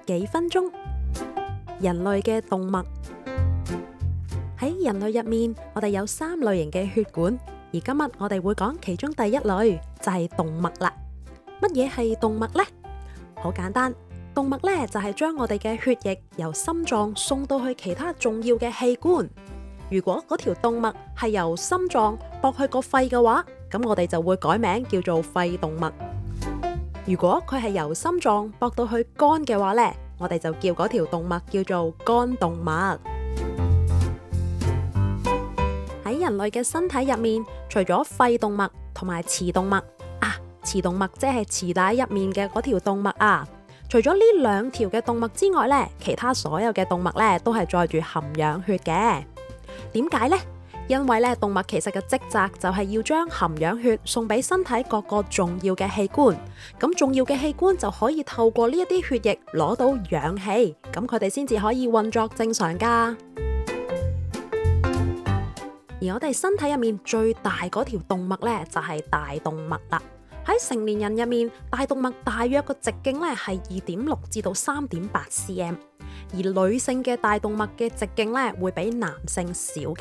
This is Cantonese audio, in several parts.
幾分鐘。人類嘅動脈。喺人類入面，我哋有3類型嘅血管，而今日我哋會講其中第1類，就係動脈啦。乜嘢係動脈呢？好簡單，動脈呢就係將我哋嘅血液由心臟送到去其他重要嘅器官。如果嗰條動脈係由心臟駁去個肺嘅話，咁我哋就會改名叫做肺動脈。如果佢係由心臟駁到去肝嘅話呢，我哋就叫嗰條動脈叫做肝動脈。喺人類嘅身體入面，除咗肺動脈同埋臍動脈臍動脈即係臍帶入面嘅嗰條動脈啊。除咗呢2條嘅動脈之外呢，其他所有嘅動脈呢都係載住含氧血嘅。點解呢？因為呢，動脈其實嘅職責就係要將含氧血送俾身體各個重要嘅器官，咁重要嘅器官就可以透過呢一啲血液攞到氧氣，咁佢哋先至可以運作正常噶。而我哋身體入面最大嗰條動脈呢，就係大動脈啦。喺成年人入面，大動脈大約個直徑呢係2.6至到3.8 cm， 而女性嘅大動脈嘅直徑呢會比男性少嘅。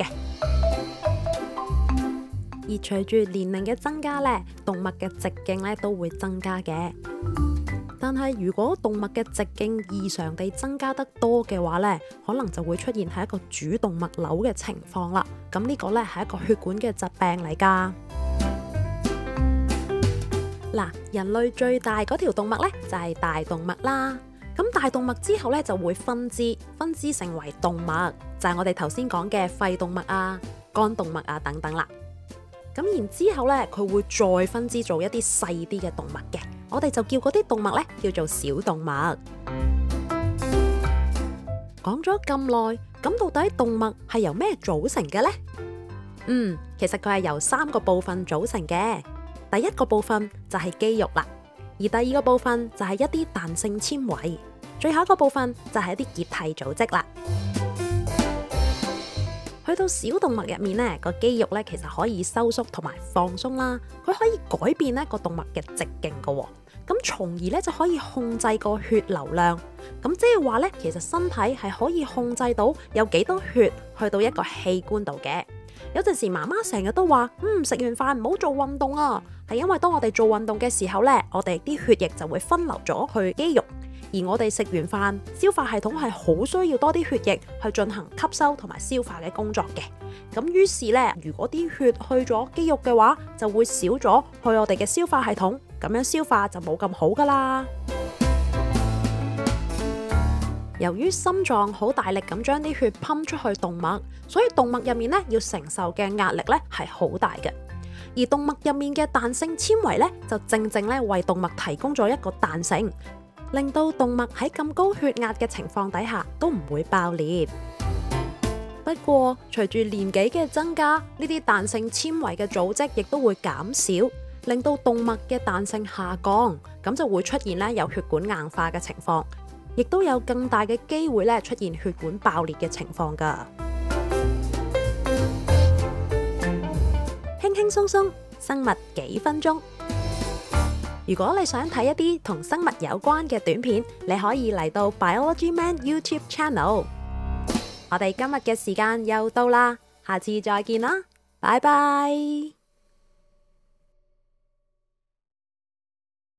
而隨住年齡嘅增加呢，動脈嘅直徑呢都會增加嘅。但係如果動脈嘅直徑異常地增加得多嘅話呢，可能就會出現係一個主動脈瘤嘅情況啦。咁呢個呢係一個血管嘅疾病嚟㗎。嗱，人類最大嗰條動脈呢，就係大動脈啦。咁大動脈之後呢，就會分支成為動脈，就係我哋頭先講嘅肺動脈啊、肝動脈啊等等啦。咁然之後呢，佢會再分支做一啲細啲嘅動脈嘅，我哋就叫嗰啲動脈呢叫做小動脈。講咗咁耐，咁到底動脈係由咩組成嘅呢？其實佢係由3個部分組成嘅。第1個部分就係肌肉啦，而第2個部分就係一啲彈性纖維，最後一個部分就係一啲結締組織啦。去到小動脈入面呢，個肌肉呢其實可以收縮同埋放鬆啦，佢可以改變呢個動脈嘅直徑噶，咁從而呢就可以控制個血流量。咁即係話呢，其實身體係可以控制到有幾多血去到一個器官度嘅。有陣時媽媽成日都話，食完飯唔好做運動啊，係因為當我哋做運動嘅時候呢，我哋啲血液就會分流咗去肌肉，而我哋食完飯，消化系統係好需要多啲血液去進行吸收同埋消化嘅工作嘅。咁於是呢，如果啲血去咗肌肉嘅話，就會少咗去我哋嘅消化系統，咁樣消化就冇咁好噶啦。由於心臟好大力咁將啲血噴出去動脈，所以動脈入面呢要承受嘅壓力呢係好大嘅。而動脈入面嘅彈性纖維呢，就正正呢為動脈提供咗一個彈性，令到動脈喺咁高血壓嘅情況底下都唔會爆裂。不過隨住年紀嘅增加，呢啲彈性纖維嘅組織亦都會減少，令到動脈嘅彈性下降，咁就會出現呢有血管硬化嘅情況，亦都有更大嘅機會咧出現血管爆裂嘅情況㗎。輕輕鬆鬆，生物幾分鐘。如果你想睇一啲同生物有關嘅短片，你可以嚟到 Biology Man YouTube Channel。我哋今日嘅時間又到啦，下次再見啦，拜拜。